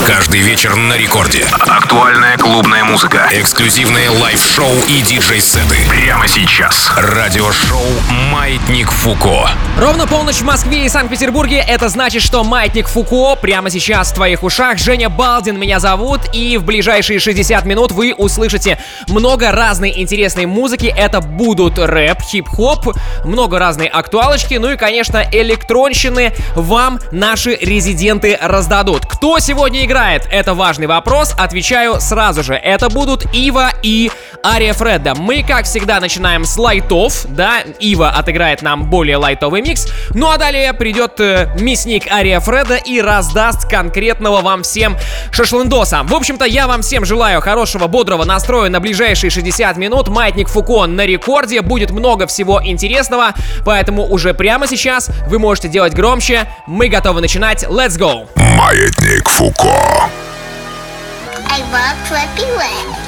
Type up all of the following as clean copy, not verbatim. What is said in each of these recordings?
Каждый вечер на рекорде. Актуальная клубная музыка. Эксклюзивные лайв-шоу и диджей-сеты. Прямо сейчас. Радиошоу «Маятник Фуко». Ровно полночь в Москве и Санкт-Петербурге. Это значит, что «Маятник Фуко» прямо сейчас в твоих ушах. Женя Балдин меня зовут. И в ближайшие 60 минут вы услышите много разной интересной музыки. Это будут рэп, хип-хоп, много разной актуалочки. Ну и, конечно, электронщины вам наши резиденты раздадут. Кто сегодня играет? Это важный вопрос. Отвечаю сразу же. Это будут Ива и Ария Фредда. Мы, как всегда, начинаем с лайтов. Да, Ива отыграет нам более лайтовый микс. Ну а далее придет мясник Ария Фредда и раздаст конкретного вам всем шашлындоса. В общем-то, я вам всем желаю хорошего, бодрого настроя на ближайшие 60 минут. Маятник Фуко на рекорде. Будет много всего интересного. Поэтому уже прямо сейчас вы можете делать громче. Мы готовы начинать. Let's go! Маятник Фуко. I love Flippy Left.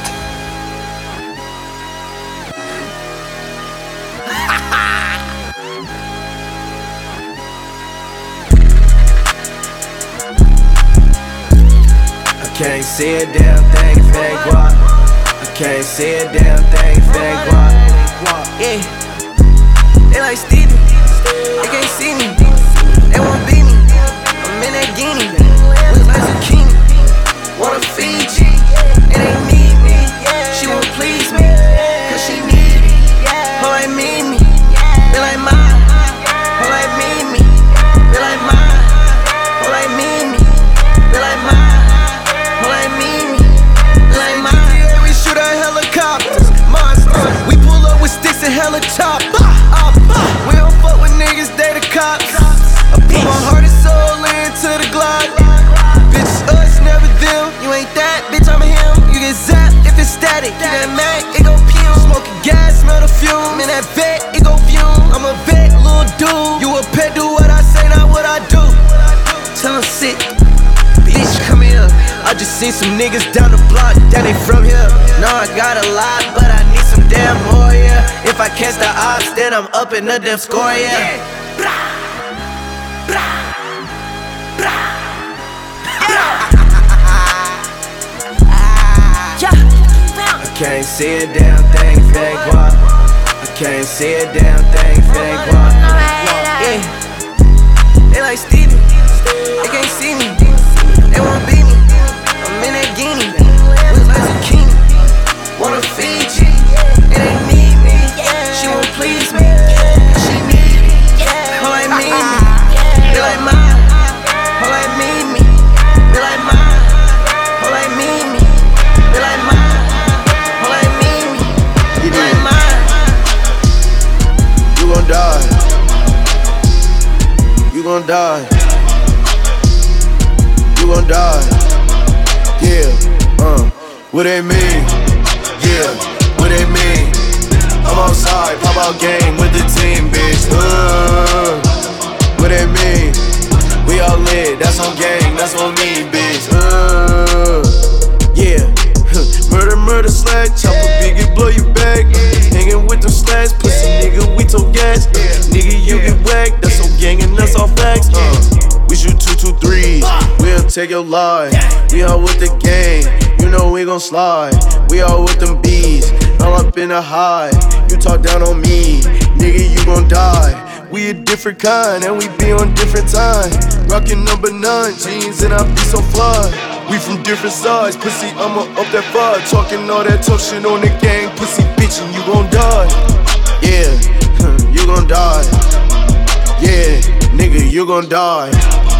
I can't see a damn thing if it ain't guap. I can't see a damn thing if it ain't guap. Yeah, they like Stevie. They can't see me. They won't beat me. I'm in that guinea. Look like zucchini. Wanna feed you, and they need me. She won't please me, cause she need me. Her like me, they like mine. Her like me, they like mine. Her like me, they like mine. Her like me, they like mine. Yeah, we shoot our helicopters, monsters. We pull up with sticks and helicopters. We don't fuck with niggas, they the cops. I put my heart and soul into the Glock. Bitch, us, never them. You ain't that, bitch, I'm him. You get zapped if it's static. You that Mac, it go fume. Smoking gas, smell the fume. In that vet, it go fume. I'm a vet, little dude. You a pet, do what I say, not what I do. Tell him sit. Bitch, come here. I just seen some niggas down the block, that ain't from here. No, I got a lot, but I need some damn more, yeah. If I catch the odds, then I'm up in the damn score, yeah. I can't see a damn thing if it ain't guap. I can't see a damn thing if it ain't guap. Yeah, they like Stevie. They can't see me. They won't beat me. I'm in that guinea. Look like zucchini. Wanna feed you, and they need me. She won't please me, cause she need me. Her like me, they like mine. Her like me, they like mine. Her like me, they like mine. Her like me, they like mine. You gon' die. You gon' die. You gon' die. Yeah, what they mean? Yeah, what they mean? I'm outside, pop out game with the team, bitch. What they mean? We all lit, that's on gang, that's on me, bitch. Yeah, murder, murder, slash, chop a biggie, blow you back. Hanging with them slacks, pussy nigga, we told gas. Nigga, you get whacked, that's on gang and that's all facts. We shoot 223, we'll take your life. We all with the gang, you know we gon' slide. We all with them bees, all up in the high. You talk down on me, nigga, you gon' die. We a different kind, and we be on different time. Rockin' number 9 jeans, and I be so fly. We from different sides, pussy, I'ma up that fire. Talking all that tough shit on the gang, pussy bitch, and you gon' die. Yeah, you gon' die. Yeah, nigga, you gon' die.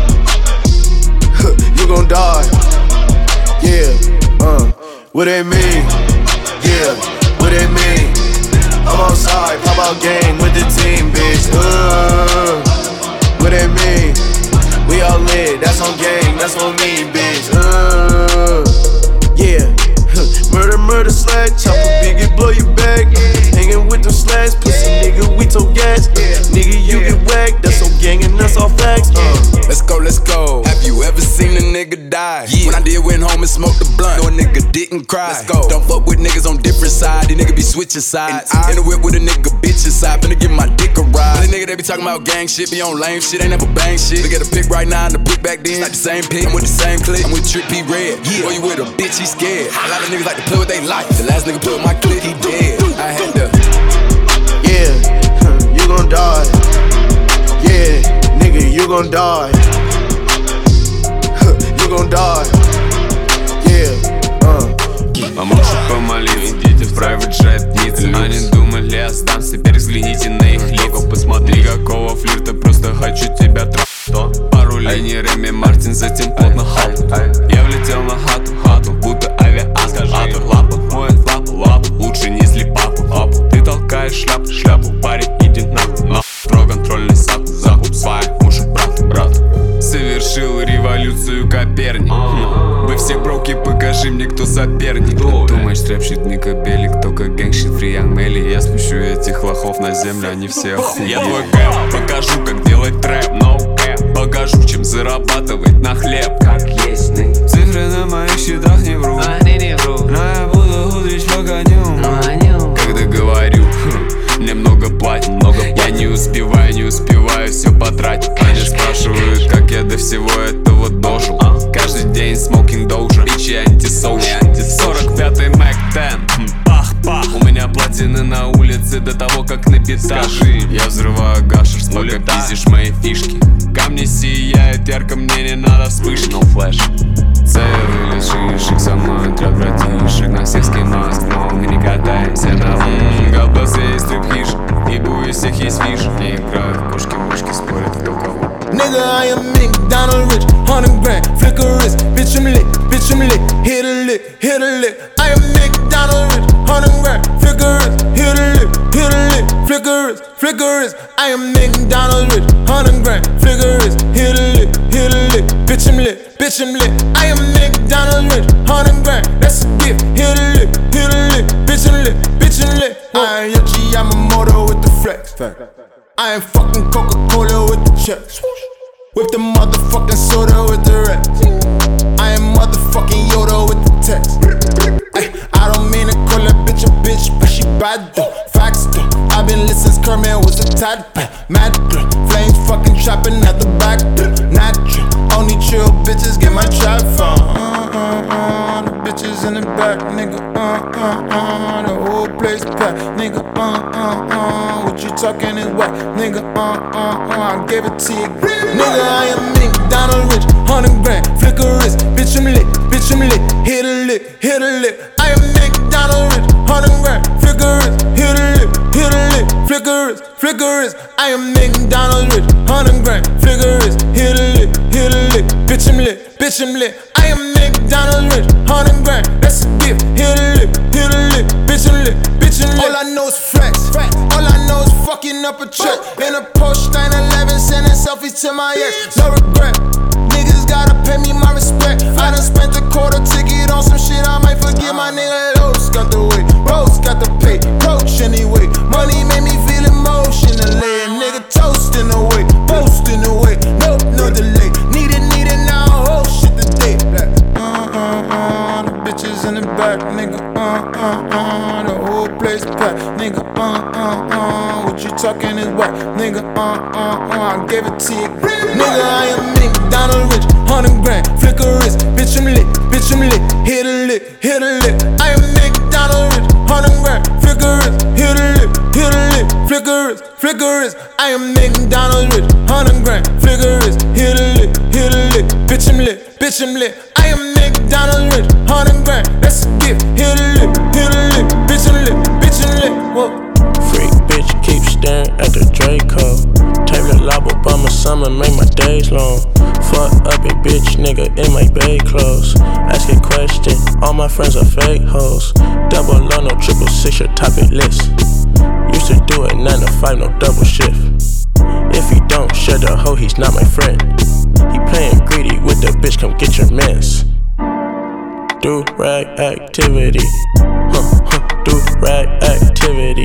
You gon' die. Yeah, what they mean? Yeah, what they mean? I'm outside, pop out game with the team, bitch. What they mean? We all lit, that's on gang, that's on me, bitch. Yeah, murder, murder, slash, chop a biggie, blow you back. Hanging with them slacks, pussy nigga, we told gas. Nigga, you get whacked, that's on gang and that's all facts. Let's go, let's go. Have you ever seen a nigga nigga died. When I did went home and smoked the blunt, no nigga didn't cry. Let's go. Don't fuck with niggas on different sides. These niggas be switching sides. In the whip with a nigga bitch inside, finna give my dick a ride. The nigga that be talking about gang shit, be on lame shit, ain't never bang shit. Look at the pic right now and the pic back then, like the same pic. I'm with the same clip, I'm with Trip P Red. Boy, you with a bitch, he scared. A lot of niggas like to play with they life. The last nigga put with my clip, he dead. I had to. Yeah, you gon' die. Yeah, nigga, you gon' die. You gon' die. Yeah, Помолчи, помолись, идите в private jet ниц. Они думали, я сдамся, теперь взгляните на их лица. Посмотри, какого флирта, просто хочу тебя трахать. Пару линий Реми Мартин, затем плотно хату. Я влетел на хату, будто авиаскажатор. Лапа, моет лапу, лучше не сли папу. Ты толкаешь шляпу, парень, иди нахуй. Про контрольный закуп, свои уши, брат. Совершил революцию Коперник. Вы все броки, покажи мне, кто соперник. Думаешь, рэп-щит не кабелик, только гэнгщит, фри Young Melly. Я спущу этих лохов на землю, они все охуели. Я твой кэп, покажу, как делать трэп, no cap. Покажу, чем зарабатывать на хлеб, как есть. Цифры на моих счетах не врут, но я буду худрить по коню. Когда говорю, мне много платят, я не успеваю все потратить. Они спрашивают, как я до всего этого дожил. Каждый день смокинг доужа, бичи антисоушал. 45-й Mac 10, пах-пах. У меня платины на улице до того, как на битах. Скажи, я взрываю гашиш, пока пиздишь мои фишки. Камни сияют ярко, мне не надо вспышки. No flash. Целый лишишек, со мной отряд братишек. На всех скинах, но мы не катаемся на голдосы есть стрип-хиш. Ебу из всех есть фиш. Не играют кошки-мышки, спорят кто кого. nigga, I am McDonald rich, 100 grand, flick a wrist, bitch I'm lit, hit a lick. I am McDonald rich, 100 grand, flick a wrist, hit a lick, flick a wrist. I am McDonald rich, 100 grand, flick a wrist, hit a lick, bitch I'm lit. I am McDonald rich, 100 grand, that's a gift, hit a lick, bitch I'm lit. I am your G, I'm a motor with the flex. I ain't fucking Coca-Cola with the checks. Whip the motherfucking soda with the rest. I am motherfucking Yoda with the text. Ay, I don't mean to call that bitch a bitch, but she bad though. Facts though. I've been lit since Kermit was a tadpole. Mad girl, flames fucking trapping at the back door. Natural, only chill bitches get my trap from. The bitches in the back, nigga. The whole place packed, nigga. What you talking is whack, nigga. I gave it to you, nigga. I am McDonald rich, 100 grand, flick a wrist, bitch I'm lit, hit a lick. I am McDonald rich, 100 grand, flick a wrist, hit a lick, flick a wrist. I am McDonald rich, 100 grand, flick a wrist, hit a lick, bitch I'm lit. I am McDonald rich, 100 grand, that's a gift, hit a lick, bitch I'm lit. All I know is flex, all I know is fucking up a check. In a Porsche 911, sending selfies to my ex, no regret. Niggas gotta pay me my respect. I done spent a quarter ticket on some shit, I might forget my nigga. Los got the weight, Rose got the pay, coach anyway. Money made me feel emotionally. Nigga toasting away, boasting away. Nope, no delay. Need it now, whole shit today. The bitches in the back, nigga. The whole place packed, nigga. What you talking is whack, nigga. I gave it to you, nigga. I am McDonald rich, 100 grand, flick a wrist, bitch I'm lit, hit a lick. I am McDonald rich, 100 grand, flick a wrist, hit a lick, flick a wrist. I am McDonald rich, 100 grand, flick a wrist, hit a lick, bitch I'm lit. I am McDonald rich, 100 grand, that's a gift, hit a lick, bitch I'm lit. Whoa. Freak bitch keep staring at the Draco. Tape the lob up on my summer, make my days long. Fuck up a bitch nigga in my bay clothes. Ask a question, all my friends are fake hoes. Double on no 666 your topic list. Used to do it 9 to 5, no double shift. If he don't share the hoe, he's not my friend. He playing greedy with the bitch, come get your mans. Do rag activity, do rag activity,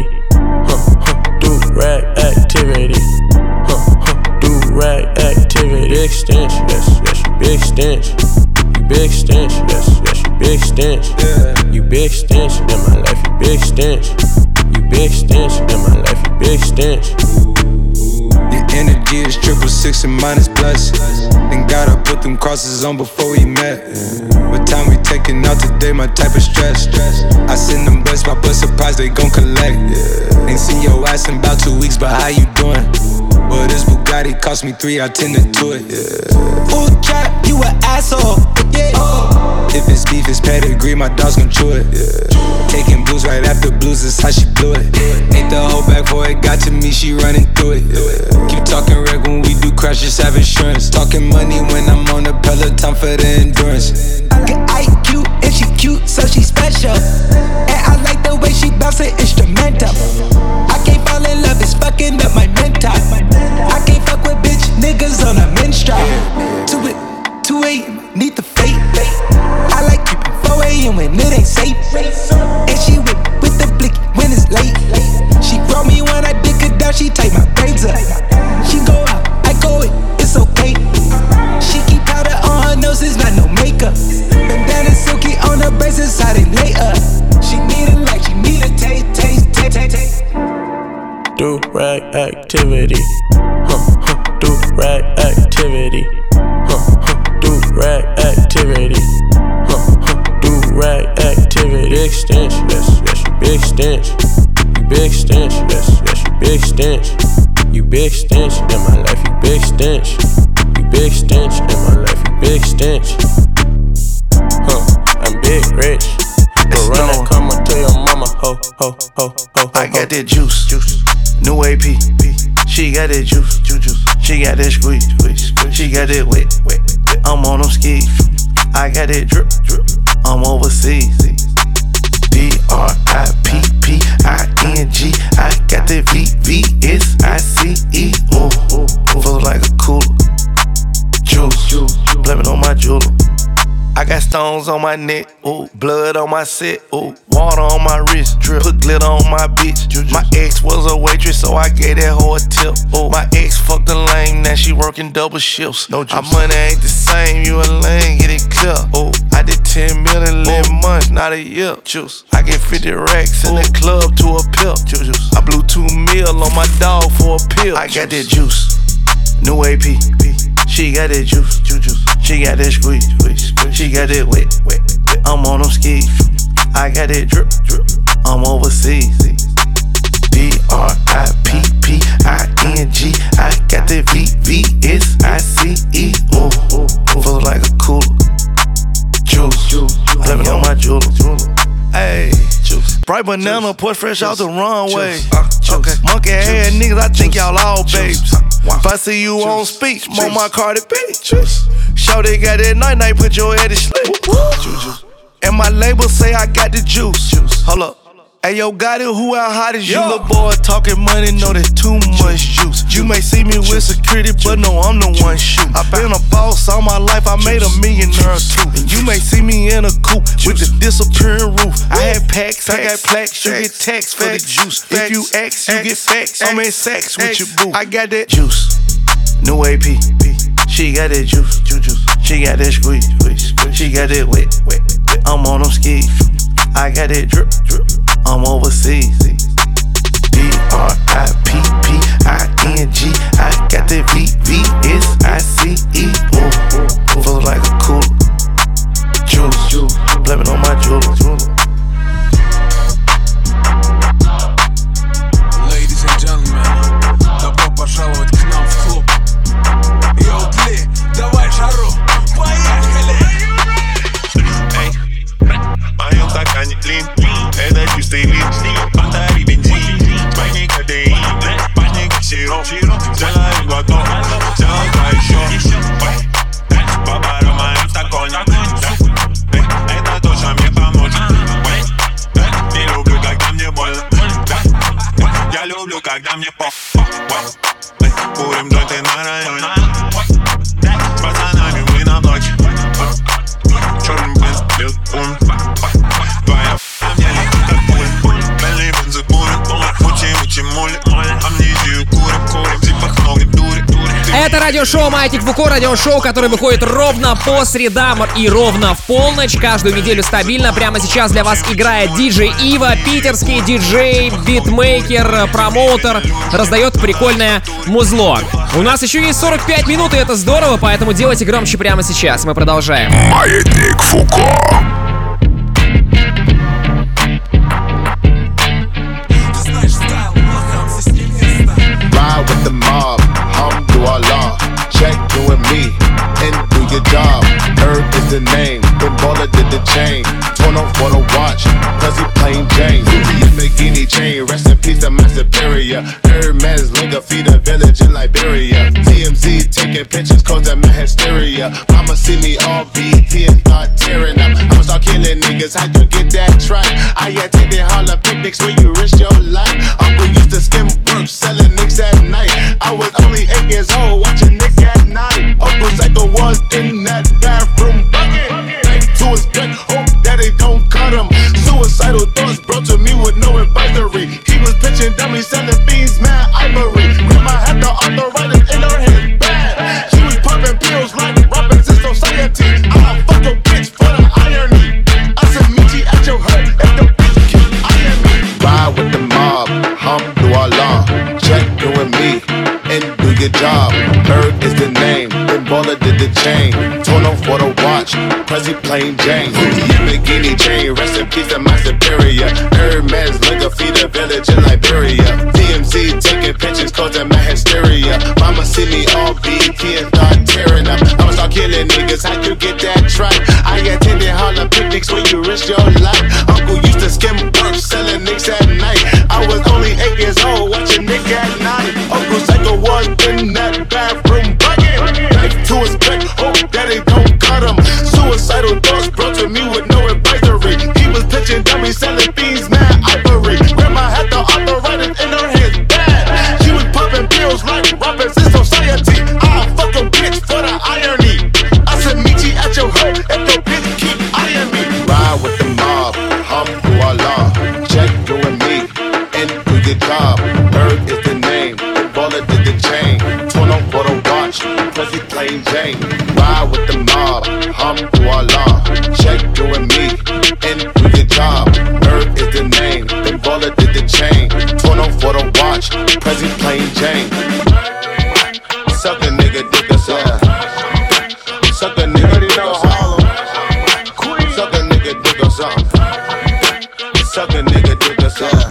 do rag activity, do rag activity. Big stench, yes, you big stench. big stench, yes, you big stench. You big stench in my life, you big stench. You big stench in my life, you big stench. Your energy is 666 and minus plus. Then gotta put them crosses on before we met. What time we taking out today, my type of stress. I send them bus, my bus surprise, they gon' collect. Ain't seen your ass in about 2 weeks, but how you doing? Well, this Bugatti cost me 3, I tended to it. Ooh, trap, you an asshole. If it's beef, it's pedigree, my dogs gon' chew it. Taking blues right after blues, that's how she blew it. Ain't the whole back before it got to me, she running through it. Keep talking reg when we do crash, just have insurance. Talking money when I'm on the Peloton for the endurance. Got IQ and she cute, so she special. And I like the way she bounce it instrumental. I can't fall in love, it's fucking up my mental. I can't fuck with bitch niggas on a menstrual. 2 a.m. need the fate. I like keeping 4 a.m. when it ain't safe. And she with the blicky when it's late. She roll me when I dick her down, she tight my braids up. She go out, I go in, it's okay. She keep powder on her nose, it's not no makeup. Bandana silky on her braces, how they lay up. She need a like, she need a taste. Do rag activity, do rag activity, do rag activity, do rag activity. Big stench, yes, you big stench. You big stench, yes, you big stench. You big stench in my life, you big stench. You big stench in my life, you big stench. I'm big rich. Go run and come and tell your mama, ho. I got that juice, new AP. She got that juice. She got that squeeze. She got that wet. I'm on them skis. I got that drip. I'm overseas. DRIPPING. I got that VVSICE. Feel like a cooler. Juice. Blame it on my jeweler. I got stones on my neck, ooh, blood on my set, ooh, water on my wrist, drip, put glitter on my bitch. My ex was a waitress, so I gave that hoe a tip. Ooh, my ex fucked a lame, now she working double shifts. No juice. Our money ain't the same, you a lame, get it clear. Ooh, I did 10 million in 11 months, not a year. Juice. I get 50 racks in the club to a pill. Juice. I blew 2 mil on my dog for a pill. I got that juice, new AP. She got that juice. She got that squeeze. She got that wet. I'm on them skis. I got that drip. I'm overseas. DRIPPING. I got that VVSICE. Feel like a cooler. Juice. Blame it on my jeweler. Ayy, juice. Bright banana, put fresh out the runway. Okay. Monkey head niggas, I think y'all all babes. If I see you on speech, I'm on my Cardi B. Show they got that night, put your head to sleep. And my label say I got the juice. Hold up. Hey yo, got it, who out hot as you? Little boy talking money, know that's too much juice. You may see me with security, but no, I'm the one shooting. I been a boss all my life, I made $1 millionaire too. You may see me in a coupe with the disappearing roof. I had packs, I got plaques, you get taxed for the juice. If you X, you get facts. I'm in sex with your boo. I got that juice, new AP. She got that juice. She got that squeeze. She got that wet. I'm on them skis. I got that drip. I'm overseas. DRIPPING. I got that VVSICE. Feel like a cooler. Juice. Blame it on my jeweler. Ladies and gentlemen, добро пожаловать к нам в клуб. Йоутли, давай жару, поехали! Эй, в моем стакане лин, это чистый лин. Подари бензин, пахнет кадеин, пахнет как сироп. Сделай глоток, сделай еще. Это радиошоу «Маятник Фуко», радиошоу, которое выходит ровно по средам и ровно в полночь, каждую неделю стабильно. Прямо сейчас для вас играет диджей Ива, питерский диджей, битмейкер, промоутер, раздает прикольное музло. У нас еще есть 45 минут, и это здорово, поэтому делайте громче прямо сейчас. Мы продолжаем. Маятник Фуко. With the mob, Alhamdulillah. Check you and me and do your job. Herb is the name, then Baller did the chain. Torn off for the watch, cause he plain Jane. Lamborghini chain, rest in peace to my superior. Hermes Linga feed a village in Liberia. TMZ taking pictures cause of my hysteria. Mama see me on BET and start tearing up. I'ma start killing niggas, how you get that tripe? I attended Harlem picnics where you risk your life. Uncle used to skim work, selling nicks at night. I was only 8 years old, watching Nick at night. Uncle Psycho was in that bathroom bucket. Thanks to his gun, hope that it don't cut him. Suicidal thoughts brought to me with no advisory. He was pitching dummies, selling beans, mad ivory. Grandma had the arthritis in her head bad. She was popping pills like Robinson Society. I'll fuck a bitch for the irony. I said meet you at your hut if the bitch keep eyeing me. Ride with the mob, Alhamdulillah. Check you and me and do your job. Herb is the name, then Baller did the chain. Torn off for the watch, cause he plain Jane. Lamborghini chain, rest in peace to my superior. Hermes Linga feed a village in Liberia. TMZ taking pictures causing my hysteria. Mama see me on BET and start tearing up. I'ma start killing niggas, how you get that tripe? I attended Harlem picnics where you risk your life. Uncle used to skim work, selling nicks at night. I was only 8 years old, watching Nick at night. Uncle Psycho was in that bathroom bucket. Knife to his back, hope that it don't cut him. Suicidal thoughts brought to me with no advisory. He was pitching dummies, selling beans, mad ivory. Grandma had the arthritis in her head bad. She was popping pills like Robinson Society. I'll fuck a bitch for the irony. I said meet you at your hut if the bitch keep eyeing me. Ride with the mob, Alhamdulillah. Check you and me and do your job. Herb is the name, the Baller did the chain. Torn off for the watch, cause he plain Jane. Ride with the mob, Alhamdulillah. Check you and me and do your job. Herb is the name, the Baller did the chain. Torn off for the watch, cause he plain Jane. Suck a nigga dick us up. Suck a nigga dick us up. Suck a nigga dick us up. Suck a nigga dick us up.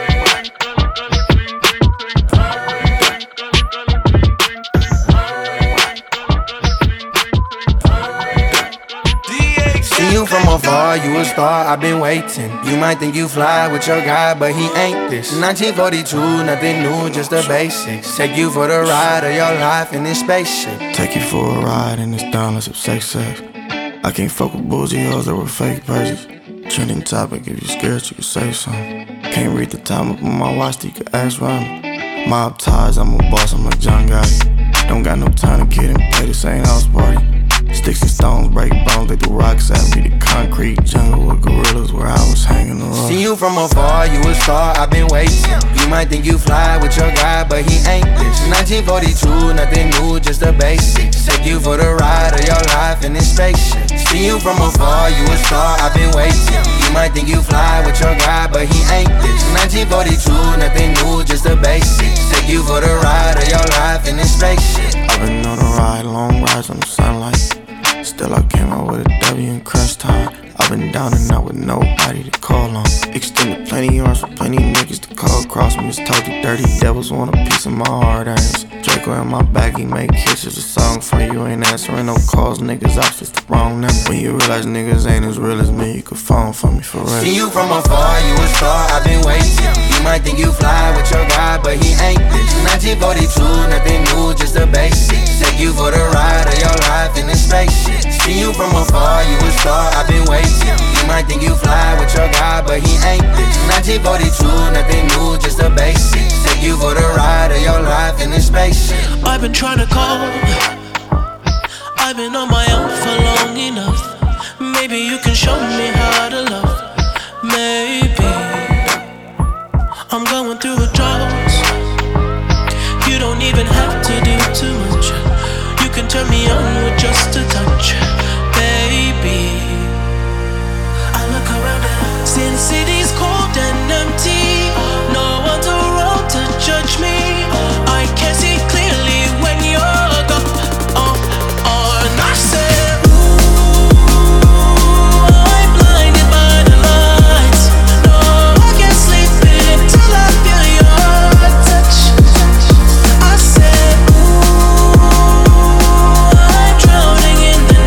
You from afar, you a star, I've been waiting. You might think you fly with your guy, but he ain't this. 1942, nothing new, just the basics. Take you for the ride of your life in this spaceship. Take you for a ride in this downless of sex. I can't fuck with bougie hoes that were fake purses. Trending topic, if you scared, you can say something. Can't read the time up on my watch, you can ask around me. Mob ties, I'm a boss, I'm like John Gotti. Don't got no time to get and play this ain't house party. Sticks and stones break bones, they do rocks at me. The concrete jungle with gorillas where I was hanging around. See you from afar, you a star, I've been waiting. You might think you fly with your guy, but he ain't this. 1942, nothing new, just the basics. Take you for the ride of your life in this spaceship. See you from afar, you a star, I've been waiting. You might think you fly with your guy, but he ain't this. 1942, nothing new, just the basics. Take you for the ride of your life in this spaceship. I've been on a ride, long rides on the sunlight. Still I came out with a W in crunch time. I've been down and out with nobody to call on. Extended plenty arms for plenty niggas to call across me. Just told you dirty devils want a piece of my hard earnings. Draco in my bag, he make kisses. A song for you, ain't answering no calls. Niggas ops, it's the wrong number. When you realize niggas ain't as real as me, you could phone for me for real. See you from afar, you a star, I've been waiting. You might think you fly with your guy, but he ain't this. 1942, nothing new, just the basics. Take you for the ride of your life in this spaceship. See you from afar, you a star, I've been waiting. You might think you fly with your guy, but he ain't this. 1942, nothing new, just the basics. Take you for the ride of your life in this spaceship. I've been trying to call, I've been on my own for long enough. Maybe you can show me how to love. Maybe I'm going through a drought. You don't even have to do too much. turn me on with just a touch, baby. I look around and since city's cold and empty, no one's around to judge me. I can see clearly when you're gone. And I said, I'm blinded by the lights. No, I can't sleep until I feel your touch. I said, I'm drowning in the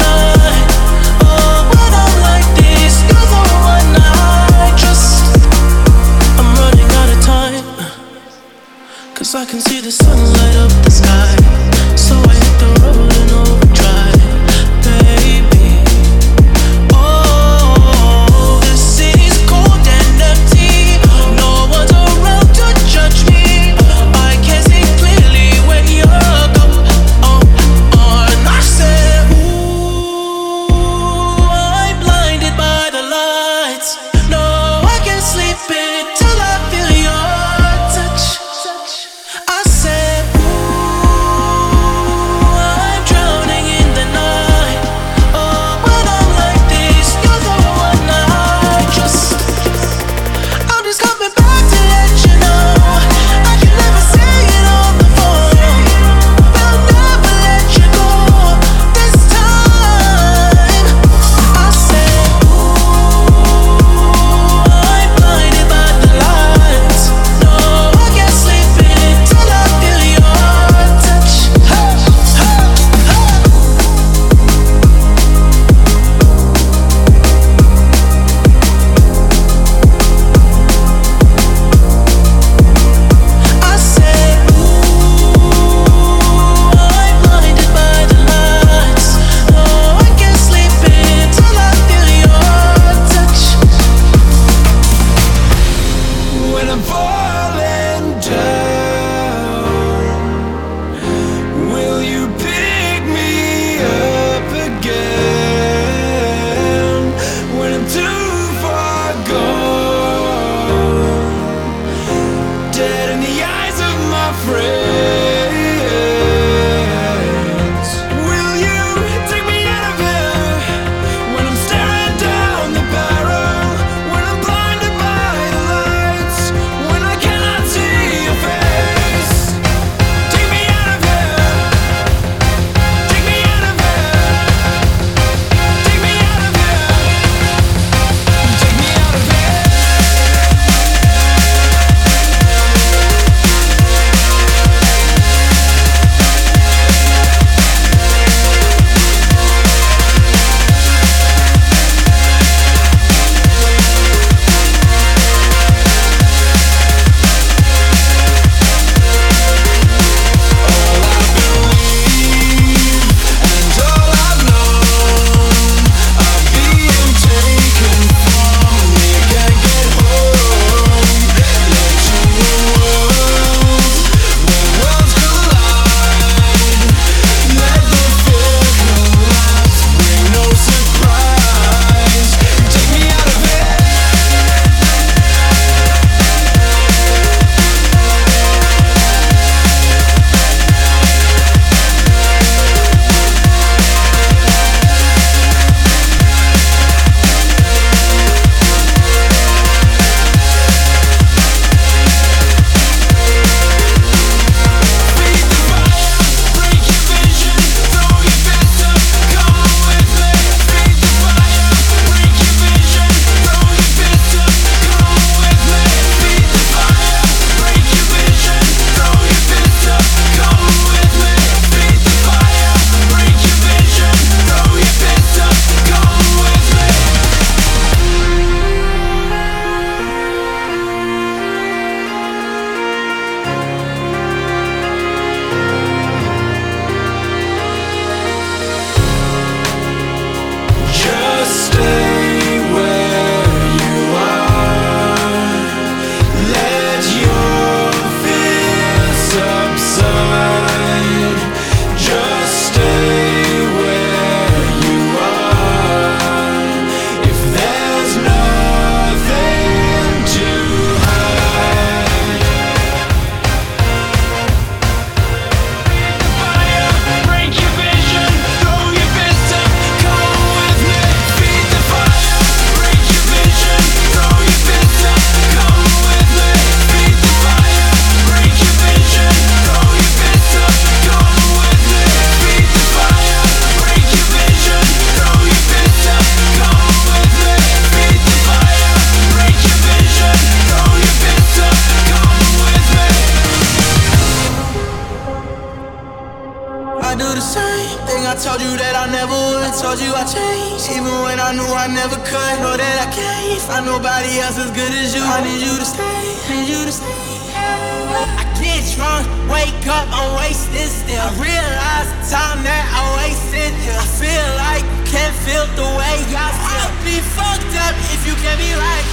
never would. Told you I changed, even when I knew I never could. Know that I can't find nobody else as good as you. I need you to stay, need you to stay. I get drunk, wake up, I'm wasted still. I realize the time that I wasted. I feel like you can't feel the way I feel. I'll be fucked up if you can't be like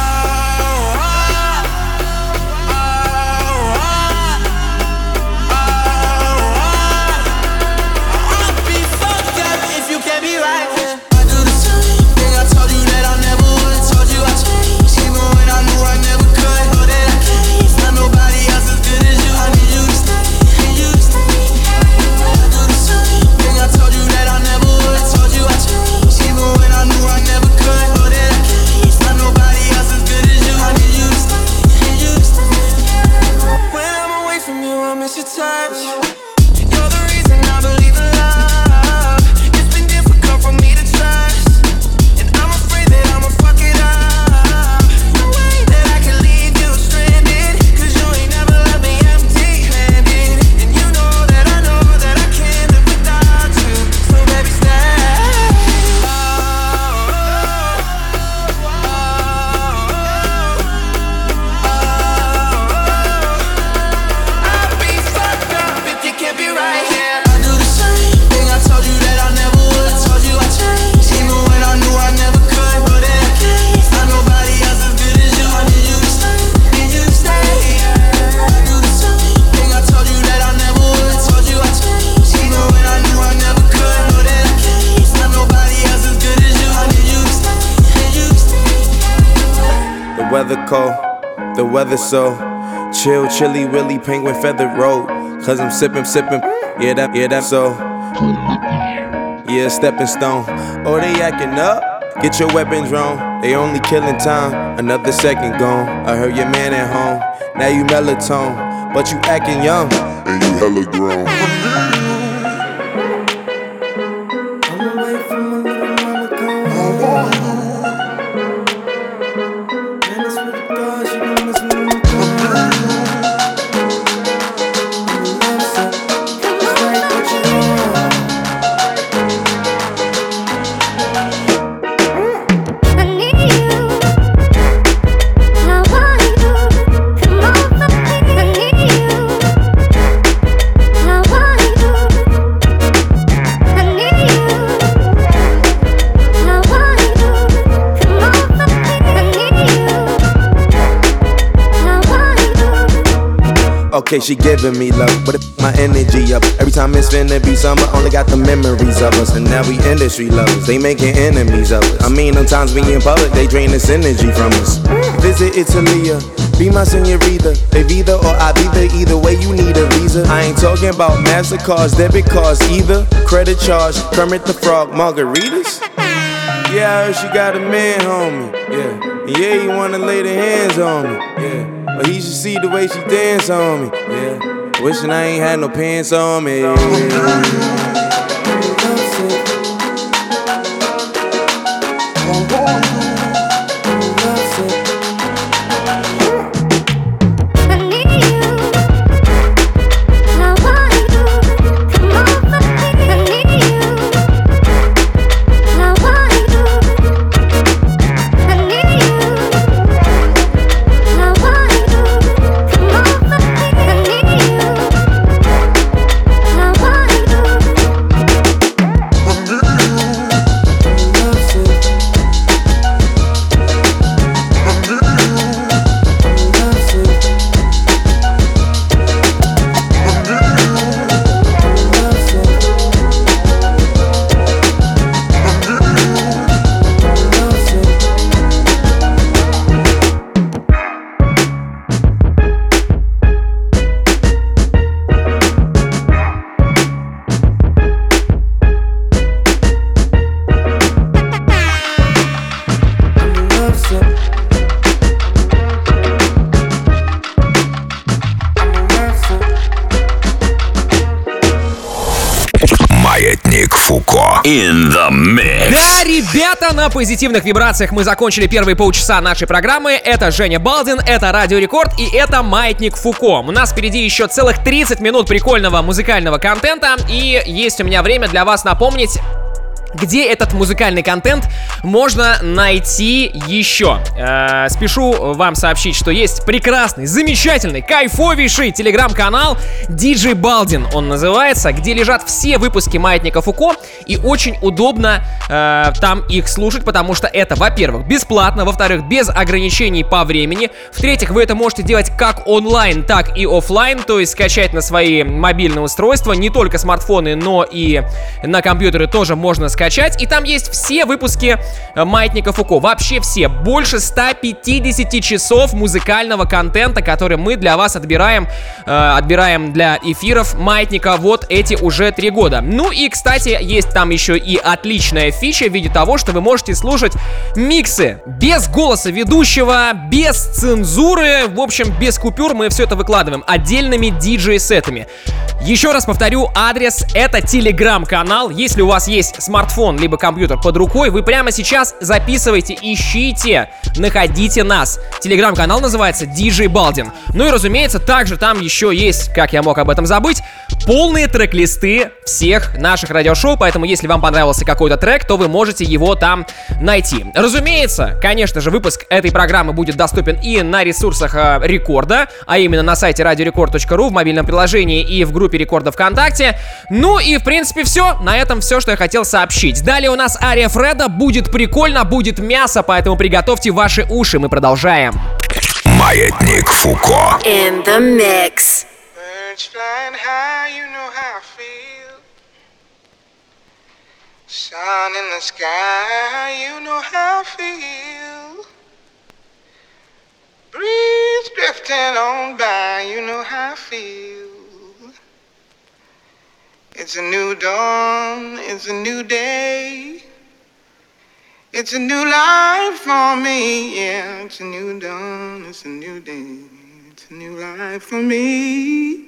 I'll be fucked up if you can't be right. I do the same thing, I told you that I never would. Told you I changed, even when I knew I never could. Know that I can't find nobody else as good as you. I need you to stay, need you to stay. I do the same thing, I told you that I never would. Told you I changed, even when I knew I never could. Know that I can't find nobody else as good as you. I need you to stay, need you to stay. When I'm away from you, I miss your touch. You're the reason I believe in love. It's been difficult for me to trust, and I'm afraid that I'ma fuck it up. No way that I can leave you stranded, 'cause you ain't never left me empty-handed. And you know that I can't live without you. So baby stay. I'll be fucked up if you can't be right here. I do the same thing, I told you that I never would. Told you I changed, even when I knew I never could. But that I can't find nobody else as good as you. I need you to stay, need you to stay. I do the same thing, I told you that I never would. Told you I changed, even when I knew I never could. But that I can't find nobody else as good as you. I need you to stay, need you to stay. The weather cold, the weather so chill, chilly, willy, penguin, feathered road. 'Cause I'm sipping, yeah that so. Yeah, stepping stone. Oh, they acting up. Get your weapons wrong. They only killing time. Another second gone. I heard your man at home. Now you melatonin, but you acting young. And you hella grown. Okay, she giving me love, but it my energy up. Every time it's finna be summer, only got the memories of us. And now we industry lovers, they making enemies of us. I mean, sometimes we in public, they drain this energy from us. Visit Italia, be my senorita. Evita or Ibiza, either way you need a visa. I ain't talking about MasterCards, debit cards either. Credit charge, Kermit the Frog, margaritas. Yeah, I heard she got a man, homie. Yeah, he wanna lay their hands on me. Yeah. But he should see the way she dance on me, yeah. Wishing I ain't had no pants on me. In the mix. Да, ребята, на позитивных вибрациях мы закончили первые полчаса нашей программы. Это Женя Балдин, это Радио Рекорд и это Маятник Фуко. У нас впереди еще целых 30 минут прикольного музыкального контента. И есть у меня время для вас напомнить Где этот музыкальный контент можно найти еще? Спешу вам сообщить, что есть прекрасный, замечательный, кайфовейший телеграм-канал DJ Balden, он называется, где лежат все выпуски Маятника Фуко, и очень удобно там их слушать, потому что это, во-первых, бесплатно, во-вторых, без ограничений по времени, в-третьих, вы это можете делать как онлайн, так и офлайн, то есть скачать на свои мобильные устройства, не только смартфоны, но и на компьютеры тоже можно скачать, и там есть все выпуски Маятника Фуко, вообще все, больше 150 часов музыкального контента, который мы для вас отбираем для эфиров Маятника вот эти уже 3 года. Ну и, кстати, есть там еще и отличная фича в виде того, что вы можете слушать миксы без голоса ведущего, без цензуры, в общем, без купюр, мы все это выкладываем отдельными диджей-сетами. Еще раз повторю, адрес — это телеграм-канал. Если у вас есть смартфон либо компьютер под рукой, вы прямо сейчас записывайте, ищите, находите нас. Телеграм-канал называется DJ Balden. Ну и, разумеется, также там еще есть, как я мог об этом забыть, полные трек-листы всех наших радиошоу, поэтому если вам понравился какой-то трек, то вы можете его там найти. Разумеется, конечно же, выпуск этой программы будет доступен и на ресурсах Рекорда, а именно на сайте radiorecord.ru, в мобильном приложении и в группе Рекорда ВКонтакте. Ну и, в принципе, все. На этом все, что я хотел сообщить. Далее у нас Ария Фреда. Будет прикольно, будет мясо, поэтому приготовьте ваши уши. Мы продолжаем. Маятник Фуко. In the mix. Birds flying high, you know how I feel. Sun in the sky, you know how I feel. Breeze drifting on by, you know how I feel. It's a new dawn, it's a new day. It's a new life for me, yeah. It's a new dawn, it's a new day. It's a new life for me.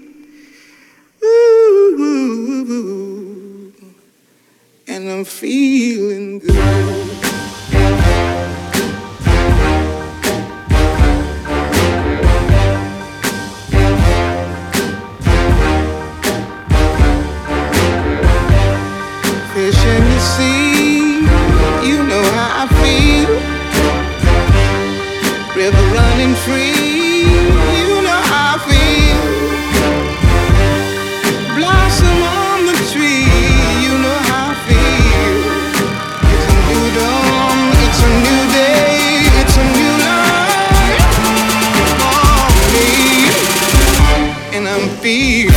Ooh, ooh, ooh. And I'm feeling good. Fish in the sea, you know how I feel. River running free, you know how I feel. Blossom on the tree, you know how I feel. It's a new dawn, it's a new day, it's a new life for me. And I'm feeling.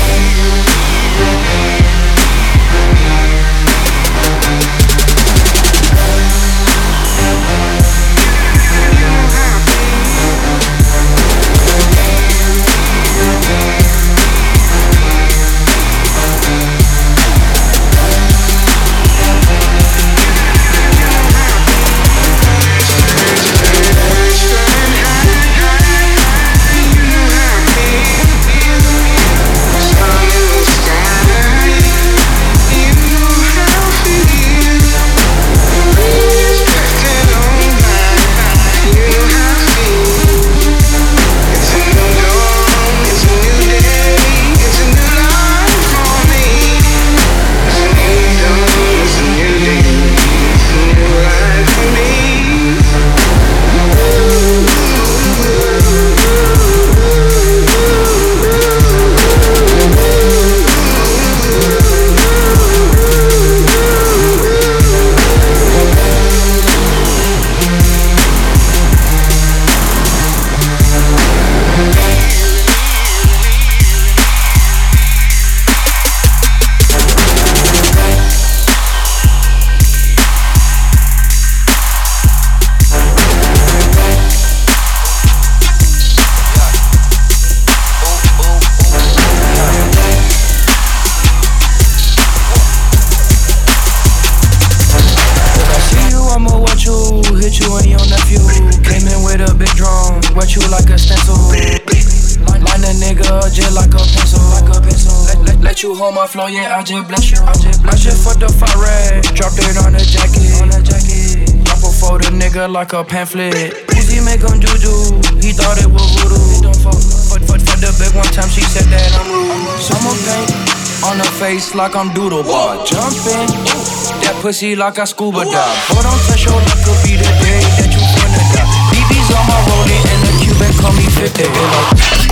You hold my flow, yeah, I just bless you. I just fucked up fire red, dropped it on the jacket. Drop before the nigga like a pamphlet. Uzi make him juju, he thought it was voodoo. Fuck the big one time, she said that I'm rude. Summer paint, on her face like I'm doodle bar. Jumping, that pussy like I scuba dive. But don't touch your luck, could be the day that you finna die. BB's on my rollie and the Cuban call me 50.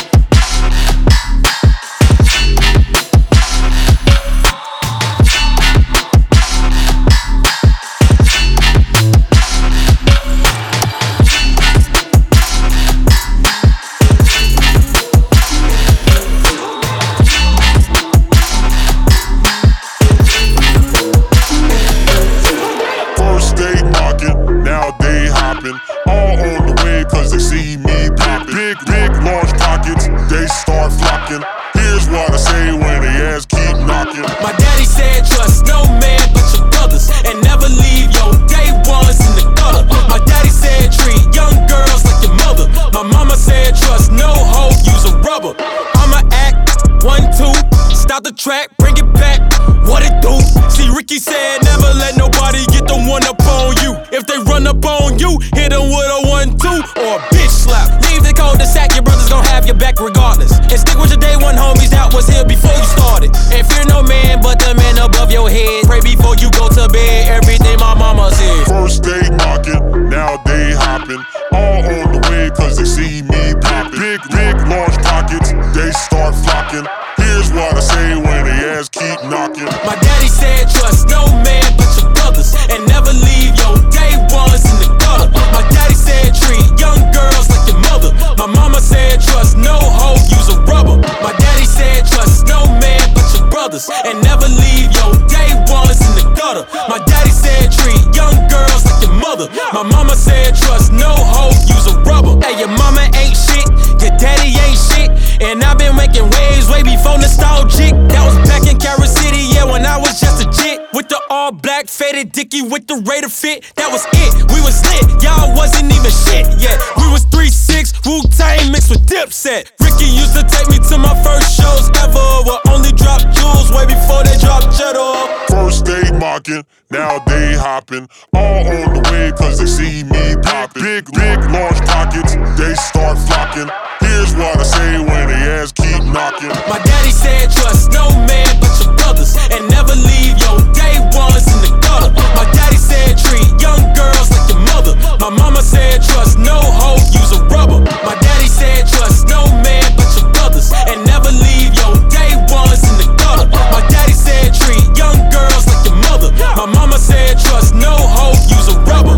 Track, bring it back, what it do? See, Ricky said never let nobody get the one up on you. If they run up on you, hit them with a 1-2 or a bitch slap. Leave the cul-de-sac, your brothers gon' have your back regardless. And stick with your day one homies that was here before you started. And fear no man but the man above your head. Pray before you go to bed, everything my mama said. First they knocking, now they hopping. All on the way cause they see me popping. Big, large pockets, they start flocking. Here's what I say when they ass keep knocking. My daddy said trust no man but your brothers, and never leave your day ones in the gutter. My daddy said treat young girls like your mother. My mama said trust no hoe, use a rubber. My daddy said trust no man but your brothers, and never leave your day ones in the gutter. My daddy said treat young girls like your mother. My mama said trust no hoe, use a rubber. Hey, your mama ain't shit, your daddy ain't shit, and I've been making waves way before nostalgic. That was back in Carol City, yeah, when I was just a jit. With the all black faded dicky with the Raider fit, that was it. We was lit, y'all wasn't even shit yet. We was 3-6, Wu-Tang mixed with Dipset. Ricky used to take me to my first shows ever, where only drop jewels way before they drop cheddar. First they mocking, now they hopping. All on the way cause they see me popping. Big, large pockets, they start flocking. Here's what I say when they ass keep knocking. My daddy said trust no man but your brothers, and never leave your day ones in the gutter. My daddy said treat young girls like your mother. My mama said trust no hoe, use a rubber. My daddy said trust no man but your brothers, and never leave your day ones in the gutter. My daddy said treat young girls like your mother. My mama said trust no hoe, use a rubber.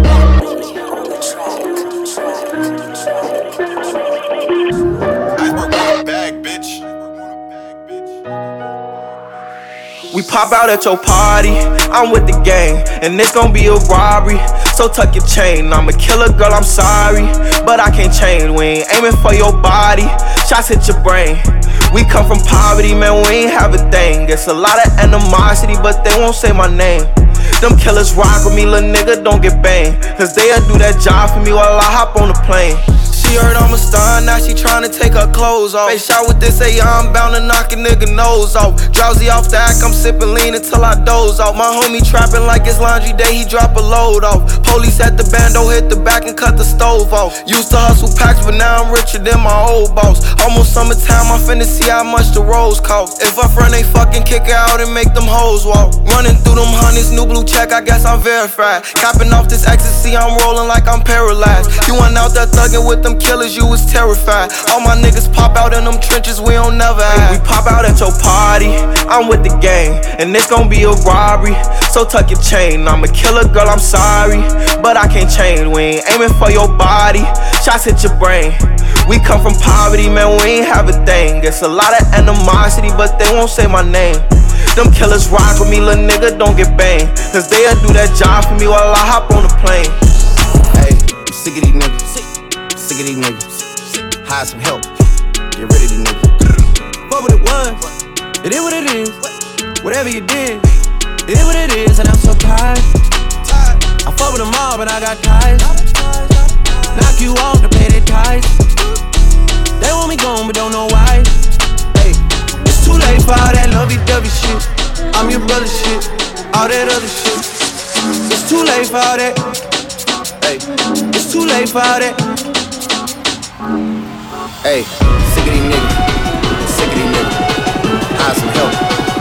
We pop out at your party, I'm with the gang, and it's gon' be a robbery. So tuck your chain, I'm a killer girl, I'm sorry, but I can't change. We ain't aiming for your body, shots hit your brain. We come from poverty, man, we ain't have a thing. It's a lot of animosity, but they won't say my name. Them killers rock with me, little nigga, don't get banged, cause they'll do that job for me while I hop on the plane. She heard I'm a star, now she tryna take her clothes off. Face shot with this AR, I'm bound to knock a nigga nose off. Drowsy off the act, I'm sippin' lean until I doze off. My homie trappin' like it's laundry day, he drop a load off. Police at the bando, hit the back and cut the stove off. Used to hustle packs, but now I'm richer than my old boss. Almost summertime, I'm finna see how much the rose cost. If her friend ain't fucking, kick her out and make them hoes walk. Running through them honeys, new blue check, I guess I'm verified. Capping off this ecstasy, I'm rolling like I'm paralyzed. You went out there thugging with them killers, you was terrified. All my niggas pop out in them trenches, we don't never hide. We pop out at your party, I'm with the gang, and it's gon' be a robbery. So tuck your chain, I'm a killer girl, I'm sorry, but I can't change. We ain't aiming for your body, shots hit your brain. We come from poverty, man, we ain't have a thing. It's a lot of animosity, but they won't say my name. Them killers rock with me, little nigga, don't get banged, cause they'll do that job for me while I hop on the plane. Hey, I'm sick of these niggas, sick of these niggas. Hire some help, get rid of these niggas. What would it was, it is what it is. Whatever you did, it is what it is, and I'm so tired. I fuck with them all, but I got ties. Knock you off to pay their ties. They want me gone, but don't know why. Hey, it's too late for all that lovey-dovey shit. I'm your brother shit, all that other shit. It's too late for all that. Hey, it's too late for all that. Hey, sick of these niggas, sick of these niggas. Hire some help.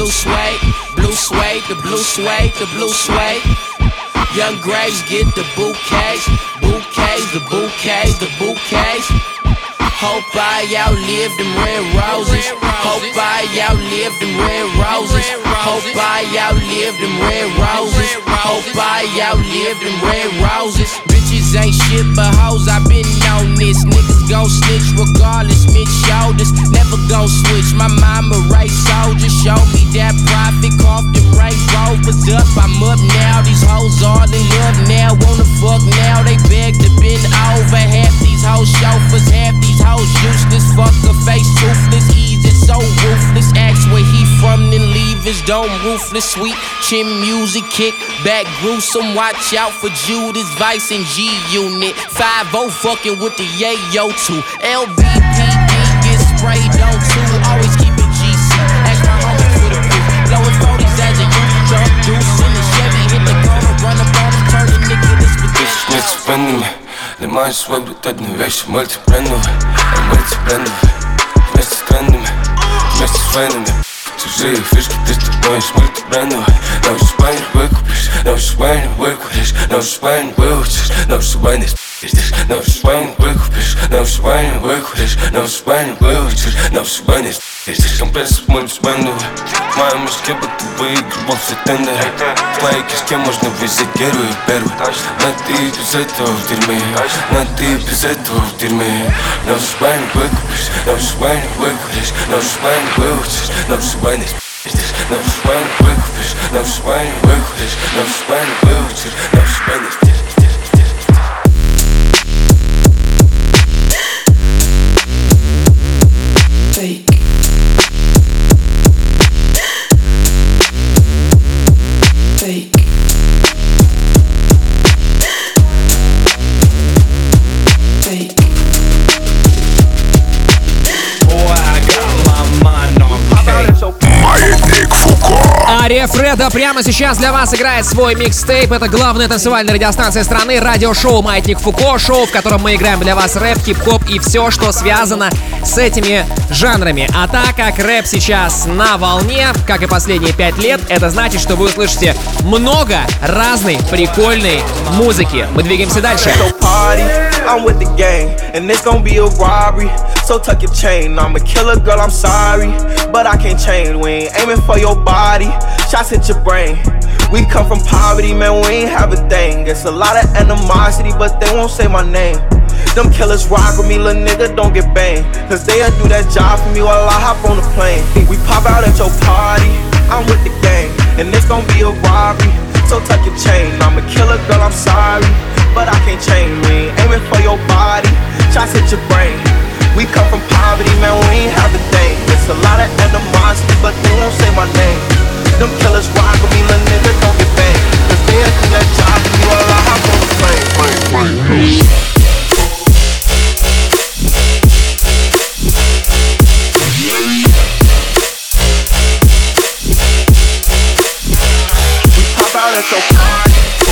blue suede, blue suede, the blue suede, the blue suede. Young Graves get the bouquets, bouquets, the bouquets, the bouquets. Hope I outlive them red roses. Hope I outlive them red roses. Hope I outlive them red roses. Hope I outlive them red roses. Bitches ain't shit but hoes, I been on this. Niggas gon' snitch regardless, mid-shoulders. Never gon' switch, my mama race soldier. Show me that profit, coughed and Range Rovers up. I'm up now, these hoes all in love now. Wanna fuck now, they beg to bend over. Half these hoes chauffeurs, half these hoes useless. Fuck a face toothless, easy, so ruthless. Ask where he from, then leave his dome roofless. Sweet chin music, kick back gruesome. Watch out for Judas, Vice and G-Unit. 5-0 fucking with the yayo too. LBPD get sprayed on too. Always keep it GC. Ask my homie for the proof. Blowing 40s as a youth, drunk juice in the Chevy. Hit the corner, run up on him, turn the nigga this position. Вместе с бендами, лимаешь свой брат, одни вещи мультибрендовые, мультибрендовые. Вместе с трендами, вместе с фенами. Чужие фишки ты строишь мультибрендовые. На вышибай не выкупишь, на вышибай не выкуришь, на вышибай не выучишь, на вышибай не спиздишь, на вышибай не выкупишь, на вышибай не выкуришь, на вышибай не выучишь, на вышибай не спиздишь. Компресс мультибрендовый. В моем мешке будто выигрывал все тендеры. В моей кишке можно взять первый и первый. Но ты без этого в дерьме, но ты без этого в дерьме. На вышибай не выкупишь, на вышибай не выкуришь, на вышибай не выучишь, на вышибай не спиздишь, на вышибай не выкупишь, на вышибай не выкуришь, на вышибай не выучишь, на вышибай не спиздишь. Ария Фреда прямо сейчас для вас играет свой микстейп. Это главная танцевальная радиостанция страны, радиошоу «Маятник Фуко», шоу, в котором мы играем для вас рэп, хип-хоп и все, что связано с этими жанрами. А так как рэп сейчас на волне, как и последние 5 лет, это значит, что вы услышите много разной прикольной музыки. Мы двигаемся дальше. I'm with the gang, and it's gon' be a robbery. So tuck your chain, I'm a killer, girl, I'm sorry, but I can't change. We ain't aiming for your body, shots hit your brain. We come from poverty, man, we ain't have a thing. It's a lot of animosity, but they won't say my name. Them killers rock with me, little nigga, don't get banged. Cause they'll do that job for me while I hop on the plane. We pop out at your party, I'm with the gang, and it's gon' be a robbery. So tuck your chain, I'm a killer, girl, I'm sorry, but I can't change. We ain't aiming for your body, shots hit your brain. We come from poverty, man, we ain't have a thing. It's a lot of animosity, but they won't say my name. Them killers rock with me, little nigga, don't get banged. Cause they'll do that job for me while I hop on the plane. We pop out at your party.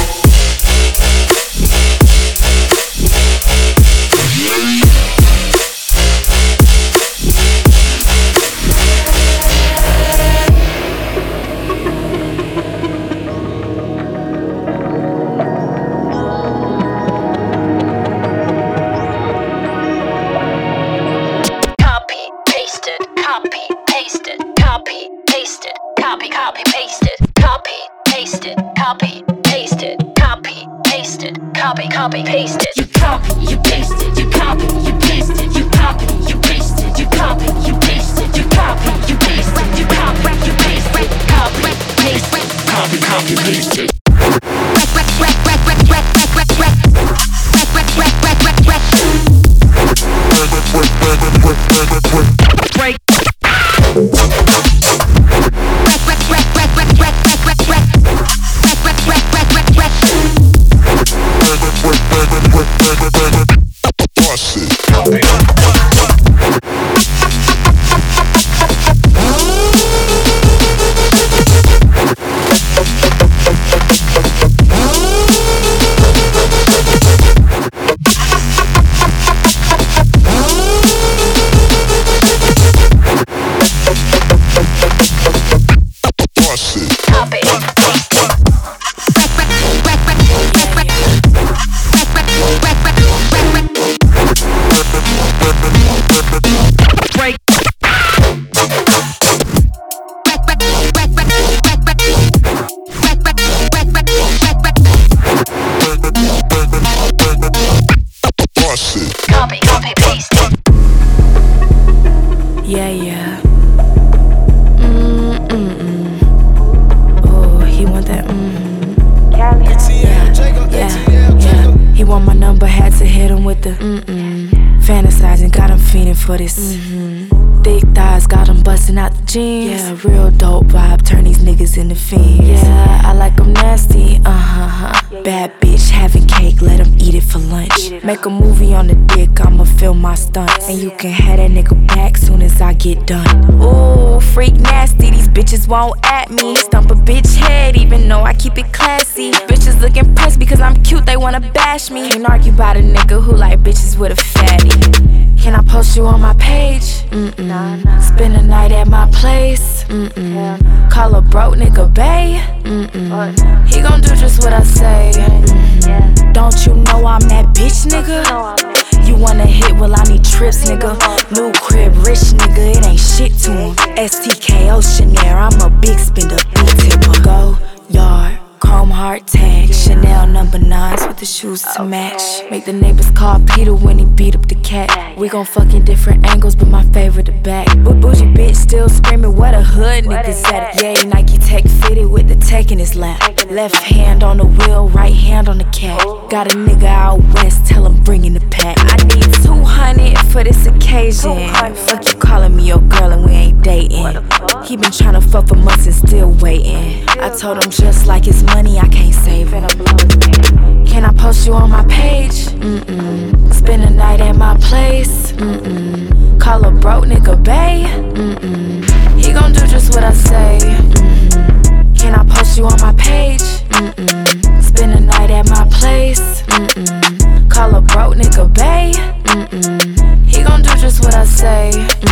Copy, paste it. You copy, you paste it. You copy, you paste it. You copy, you paste it. You copy, you paste it. You copy, you paste it. You copy, you paste it. Copy, paste it. Copy, paste it. Yeah, yeah. Oh, he want that. Yeah. He want my number, had to hit him with the. Fantasizing, got him fiending for this. Thick thighs, got him busting out the jeans. Yeah, real dope vibe, turn these niggas into fiends. Yeah, I like them nasty, Bad bitch, having cake, let him eat it for lunch. Make a movie on the dick, I'ma film my stunts. And you can have that nigga back soon as I get done. Ooh, freak nasty, these bitches won't at me. Stump a bitch head, even though I keep it classy. Bitches look impressed because I'm cute, they wanna bash me. Can't argue about a nigga who like bitches with a fatty. Can I post you on my page? Spend the night at my place? Call a broke nigga bae? He gon' do just what I say. Don't you know I'm that bitch, nigga? You wanna hit, well I need trips, nigga. New crib, rich nigga, it ain't shit to him. STKO Chanel, I'm a big spender, big tipper. Go yard, chrome heart tag, Chanel number 9s with the shoes to match. Make the neighbors call Peter when he beat up the cat. We gon' fuck in different angles, but my favorite the back. Bougie bitch still screaming, what a hood niggas at it. Yeah, Nike Tech fitted with the tech in his lap. Left hand on the wheel, right hand on the cat. Got a nigga out west, tell him bring in the pack. I need 200 for this occasion. Fuck you calling me your girl and we ain't dating. He been tryna fuck for months and still waiting. I told him just like his money, I can't save it. Can I post you on my page? Spend the night at my place? Call a broke nigga bae? He gon' do just what I say. Can I post you on my page? Spend the night at my place? Call a broke nigga bae? He gon' do just what I say.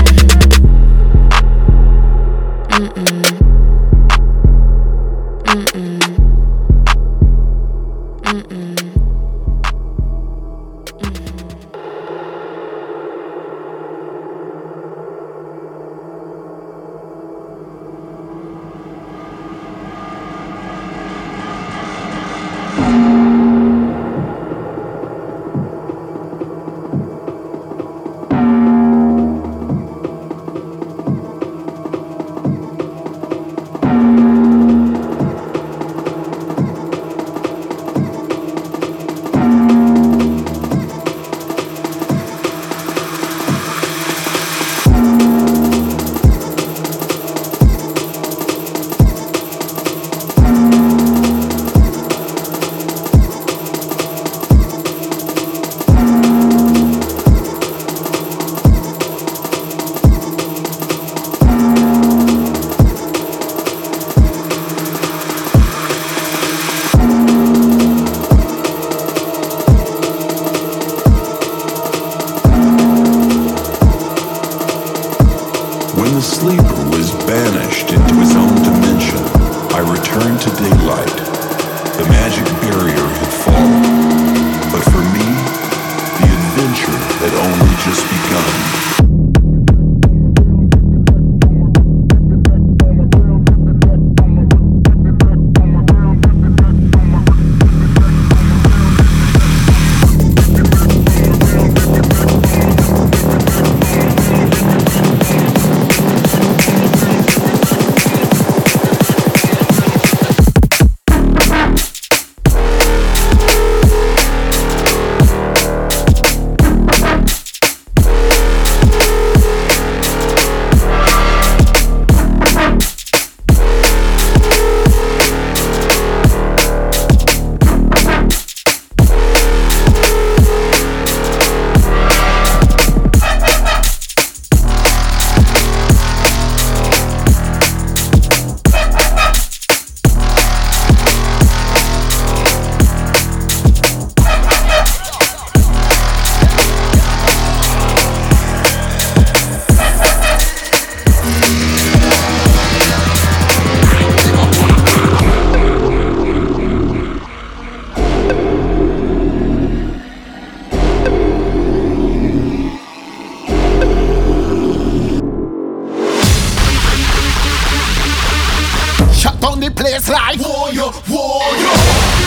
place like warrior, warrior,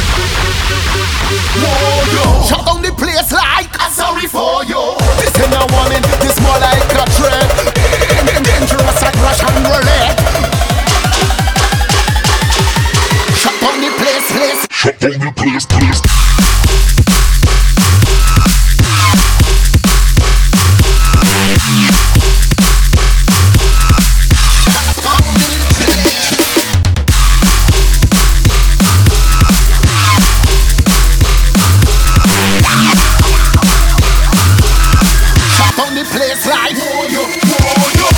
warrior. Shut down the place like I'm sorry for you. This ain't a warning, this more like a threat. place like warrior, warrior.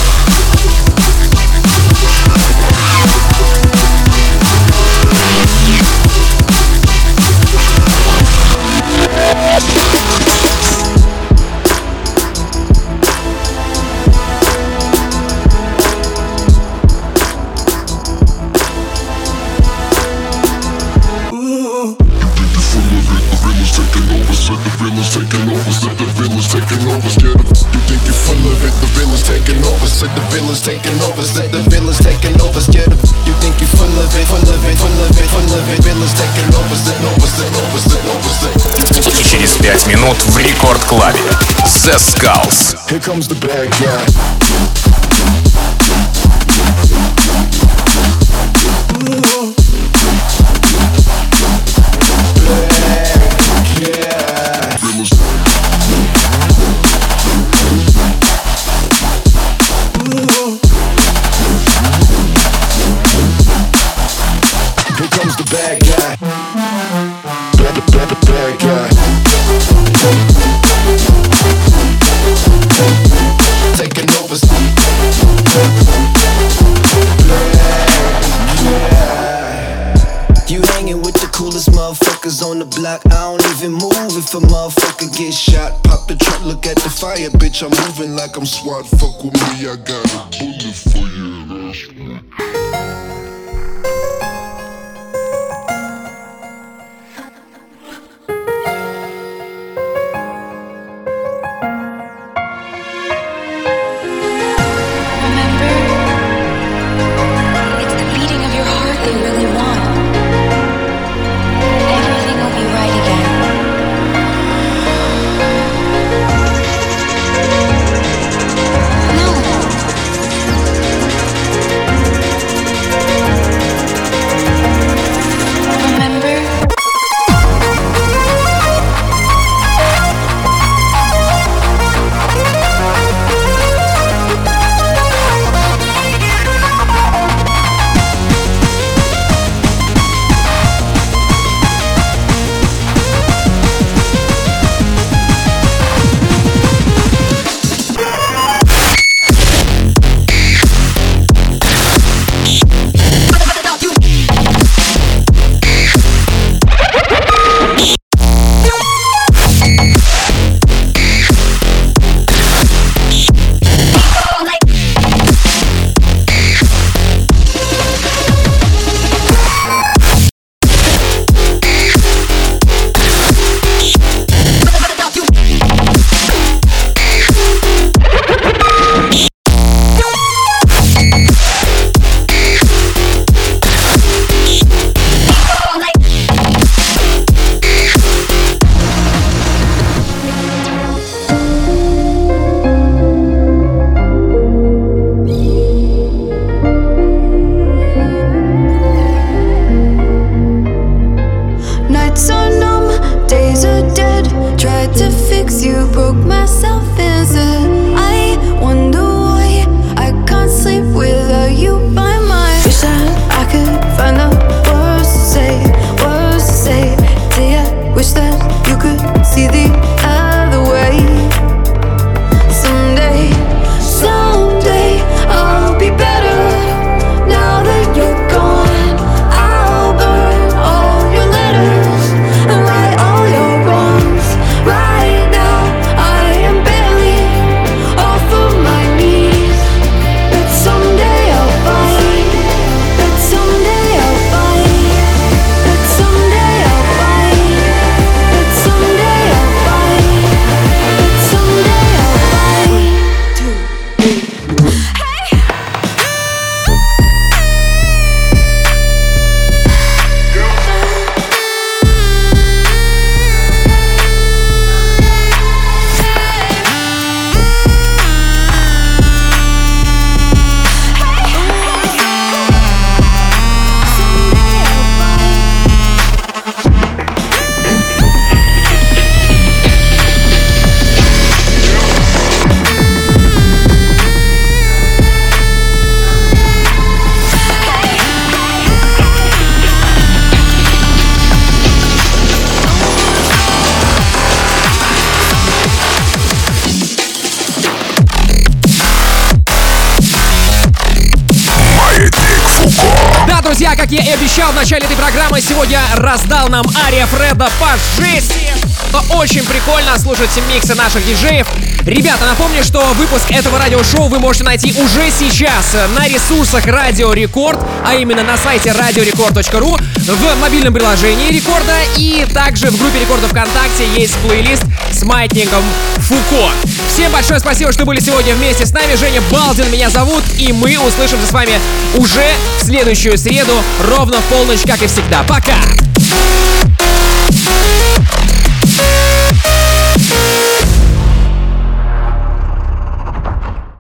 Taking over, said the villains taking over, scared of you think you full of it, full of it, full of it, full of it, villains taking over, sit over, sit over, sit over, sit. И через 5 минут в рекорд-клабе The Skulls. Here comes the bad guy. On the block, I don't even move if a motherfucker get shot. Pop the truck, look at the fire, bitch. I'm moving like I'm SWAT. Fuck with me, I got a bullet for you. друзья, как я и обещал в начале этой программы, сегодня раздал нам Ария Фреда по жести. Очень прикольно слушать миксы наших диджеев. Ребята, напомню, что выпуск этого радиошоу вы можете найти уже сейчас на ресурсах Радио Рекорд, а именно на сайте radiorecord.ru, в мобильном приложении Рекорда, и также в группе Рекорда ВКонтакте есть плейлист с маятником Фуко. Всем большое спасибо, что были сегодня вместе с нами. Женя Балдин меня зовут, и мы услышимся с вами уже в следующую среду, ровно в полночь, как и всегда. Пока!